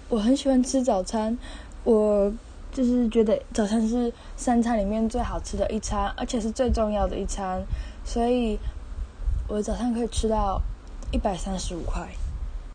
我很喜欢吃早餐，我就是觉得早餐是3餐里面最好吃的一餐，而且是最重要的一餐，所以我的早餐可以吃到135块。